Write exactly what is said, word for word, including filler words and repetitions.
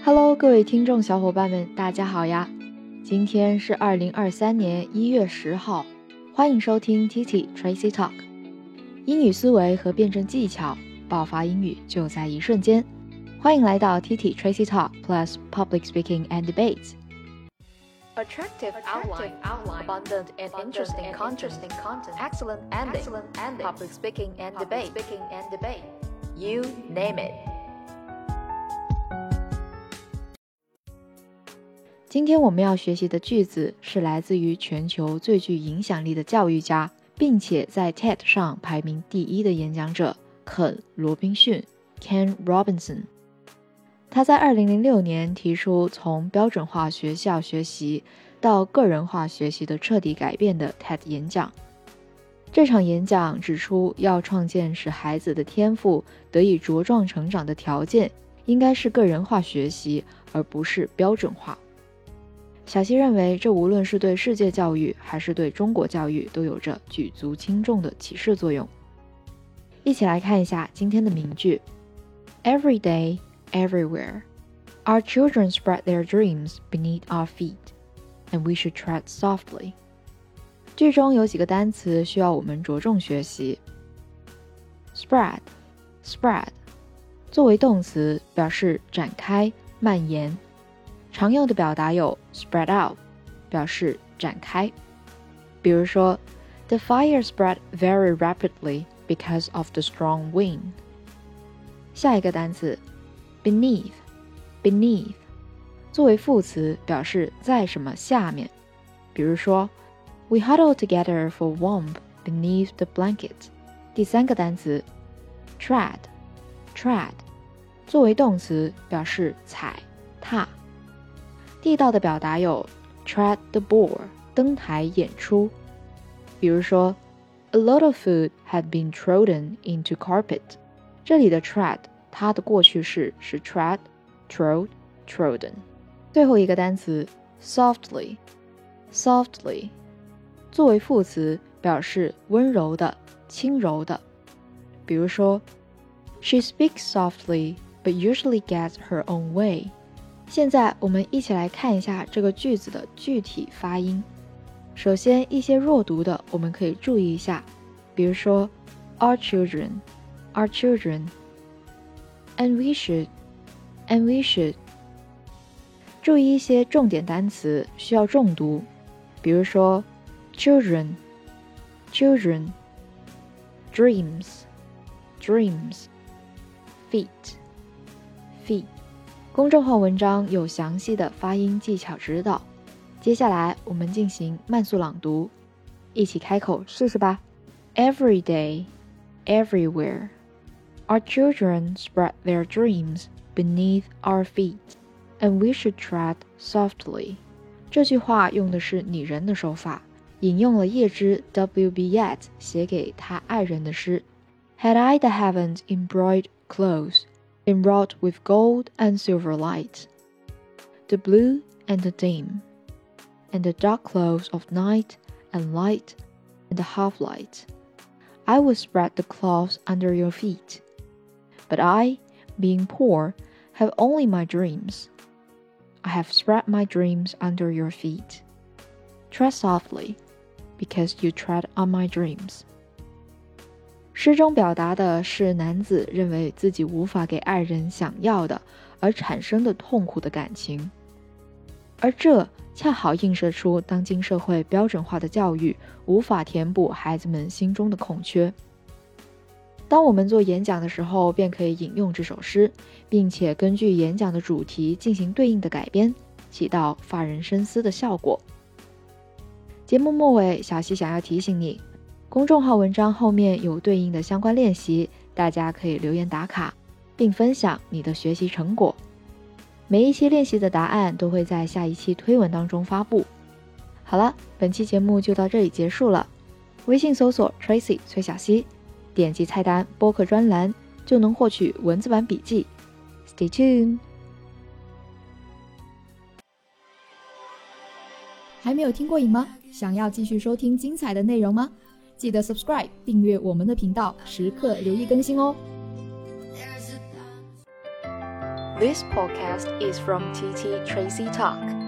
Hello， 各位听众小伙伴们，大家好呀！今天是二零二三年一月十号，欢迎收听 Titi Tracy Talk， 英语思维和辩证技巧，爆发英语就在一瞬間。歡迎來到 Titi Tracy Talk plus Public Speaking and Debates。Attractive outline, outline, abundant and interesting content, content, excellent ending, excellent ending, public speaking and debate, speaking and debate. You name it. 今天我们要学习的句子是来自于全球最具影响力的教育家，并且在 TED 上排名第一的演讲者肯·罗宾逊 Ken Robinson。他在二零零六年提出从标准化学校学习到个人化学习的彻底改变的 TED 演讲。这场演讲指出，要创建使孩子的天赋得以茁壮成长的条件，应该是个人化学习，而不是标准化。小希认为，这无论是对世界教育还是对中国教育都有着举足轻重的启示作用。一起来看一下今天的名句 Every day, everywhere, our children spread their dreams beneath our feet, and we should tread softly. 句中有几个单词需要我们着重学习。Spread, spread 作为动词表示展开、蔓延。常用的表达有 spread out 表示展开，比如说 The fire spread very rapidly because of the strong wind。 下一个单词 beneath beneath 作为副词表示在什么下面，比如说 We huddled together for warmth beneath the blanket。 第三个单词 tread tread 作为动词表示踩踏。地道的表达有 tread the board 登台演出，比如说 A lot of food had been trodden into carpet。 这里的 tread 它的过去式是 tread, trod, trodden。 最后一个单词 softly softly 作为副词表示温柔的、轻柔的，比如说 She speaks softly but usually gets her own way。现在我们一起来看一下这个句子的具体发音。首先，一些弱读的我们可以注意一下，比如说 Our children, our children, and we should, and we should。 注意一些重点单词需要重读，比如说 children, children, dreams, dreams, feet, feet。公众号文章有详细的发音技巧指导。接下来我们进行慢速朗读，一起开口试试吧。 Every day, everywhere, our children spread their dreams beneath our feet, and we should tread softly。 这句话用的是拟人的手法，引用了叶芝 W B Yeats 写给他爱人的诗 Had I the heavens embroidered close,enwrought with gold and silver light, the blue and the dim, and the dark clothes of night and light and the half-light. I would spread the cloths under your feet. But I, being poor, have only my dreams. I have spread my dreams under your feet. Tread softly, because you tread on my dreams.诗中表达的是男子认为自己无法给爱人想要的而产生的痛苦的感情，而这恰好映射出当今社会标准化的教育无法填补孩子们心中的空缺。当我们做演讲的时候，便可以引用这首诗，并且根据演讲的主题进行对应的改编，起到发人深思的效果。节目末尾，小希想要提醒你，公众号文章后面有对应的相关练习，大家可以留言打卡，并分享你的学习成果。每一期练习的答案都会在下一期推文当中发布。好了，本期节目就到这里结束了。微信搜索 Tracy 崔小希，点击菜单播客专栏就能获取文字版笔记。Stay tuned。 还没有听过瘾吗？想要继续收听精彩的内容吗？记得 subscribe 订阅我们的频道，时刻留意更新哦。 This podcast is from T T Tracy Talk.